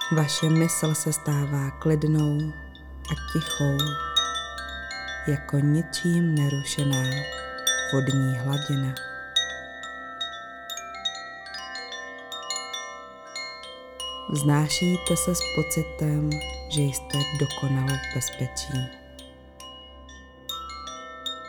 Vaše mysl se stává klidnou a tichou, jako ničím nerušená vodní hladina. Vznášíte se s pocitem, že jste dokonale v bezpečí.